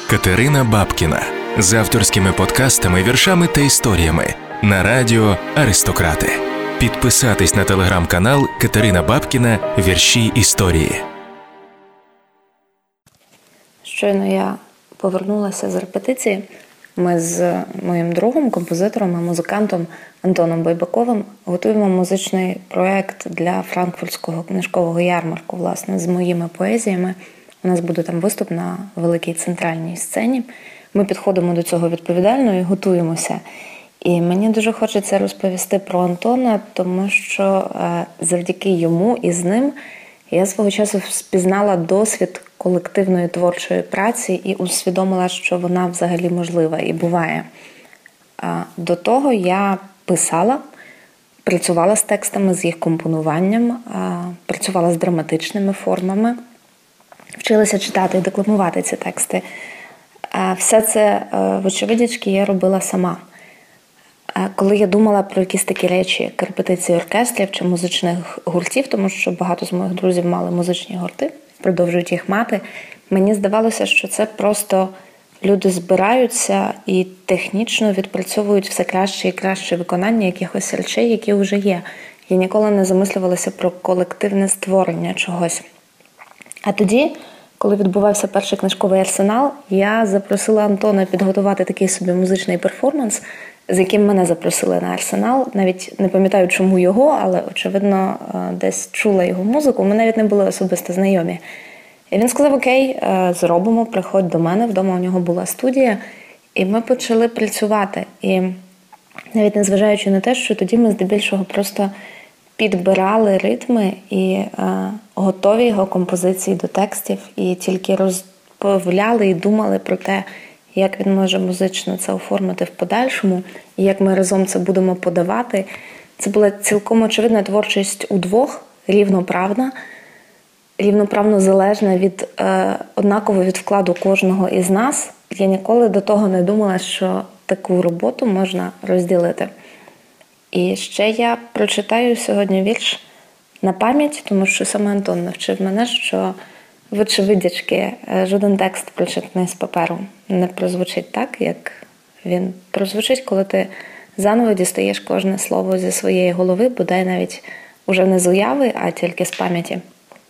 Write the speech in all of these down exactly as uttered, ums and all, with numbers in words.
Катерина Бабкіна з авторськими подкастами, віршами та історіями на радіо «Аристократи». Підписатись на телеграм-канал Катерина Бабкіна «Вірші історії». Щойно я повернулася з репетиції. Ми з моїм другом, композитором і музикантом Антоном Байбаковим готуємо музичний проєкт для Франкфуртського книжкового ярмарку, власне, з моїми поезіями. У нас буде там виступ на великій центральній сцені. Ми підходимо до цього відповідально і готуємося. І мені дуже хочеться розповісти про Антона, тому що завдяки йому і з ним я свого часу спізнала досвід колективної творчої праці і усвідомила, що вона взагалі можлива і буває. До того я писала, працювала з текстами, з їх компонуванням, працювала з драматичними формами, вчилася читати і декламувати ці тексти. Все це, вочевидячки, я робила сама. Коли я думала про якісь такі речі, як репетиції оркестрів чи музичних гуртів, тому що багато з моїх друзів мали музичні гурти, продовжують їх мати, мені здавалося, що це просто люди збираються і технічно відпрацьовують все краще і краще виконання якихось речей, які вже є. Я ніколи не замислювалася про колективне створення чогось. А тоді, коли відбувався перший книжковий арсенал, я запросила Антона підготувати такий собі музичний перформанс, з яким мене запросили на арсенал. Навіть не пам'ятаю, чому його, але, очевидно, десь чула його музику. Ми навіть не були особисто знайомі. І він сказав: окей, зробимо, приходь до мене. Вдома у нього була студія. І ми почали працювати. І навіть незважаючи на те, що тоді ми здебільшого просто підбирали ритми і е, готові його композиції до текстів, і тільки розповляли і думали про те, як він може музично це оформити в подальшому, і як ми разом це будемо подавати. Це була цілком очевидна творчість удвох, рівноправна, рівноправно залежна від, е, однаково від вкладу кожного із нас. Я ніколи до того не думала, що таку роботу можна розділити. І ще я прочитаю сьогодні вірш на пам'ять, тому що саме Антон навчив мене, що, вочевидячки, жоден текст, прочитаний з паперу, не прозвучить так, як він прозвучить, коли ти заново дістаєш кожне слово зі своєї голови, бодай навіть уже не з уяви, а тільки з пам'яті.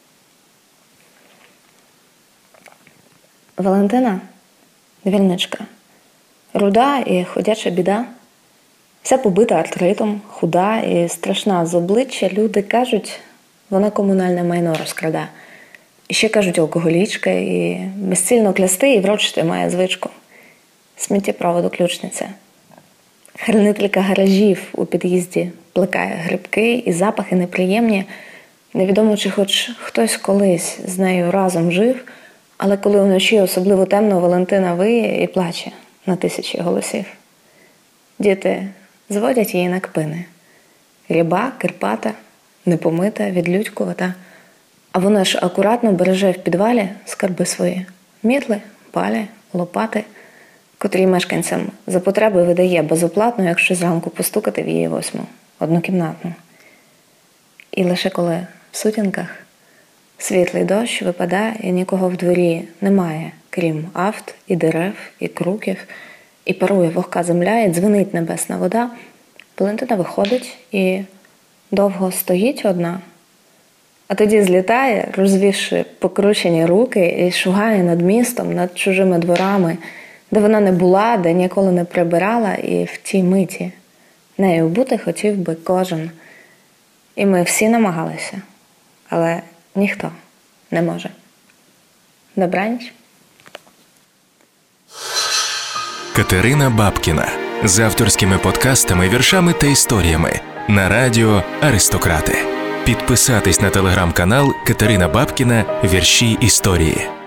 Валентина – вільничка, руда і ходяча біда. Вся побита артритом, худа і страшна з обличчя. Люди кажуть, вона комунальне майно розкрада. І ще кажуть, алкоголічка, і безцільно клясти і врочити має звичку. Сміттєпроводу ключниця. Хранителька гаражів у під'їзді плекає грибки і запахи неприємні. Невідомо, чи хоч хтось колись з нею разом жив, але коли вночі особливо темно, Валентина виє і плаче на тисячі голосів. Діти зводять її на кпини. Ряба, кирпата, непомита, відлюдькувата. А вона ж акуратно береже в підвалі скарби свої. Мітли, палі, лопати, котрі мешканцям за потреби видає безоплатно, якщо зранку постукати в її восьму, однокімнатну. І лише коли в сутінках світлий дощ випадає і нікого в дворі немає, крім авт і дерев, і круків, і парує вогка земля, і дзвенить небесна вода, Валентина виходить і довго стоїть одна, а тоді злітає, розвівши покручені руки, і шугає над містом, над чужими дворами, де вона не була, де ніколи не прибирала, і в тій миті нею бути хотів би кожен. І ми всі намагалися, але ніхто не може. Добраніч. Катерина Бабкіна з авторськими подкастами, віршами та історіями на радіо «Аристократи». Підписатись на телеграм-канал Катерина Бабкіна «Вірші історії».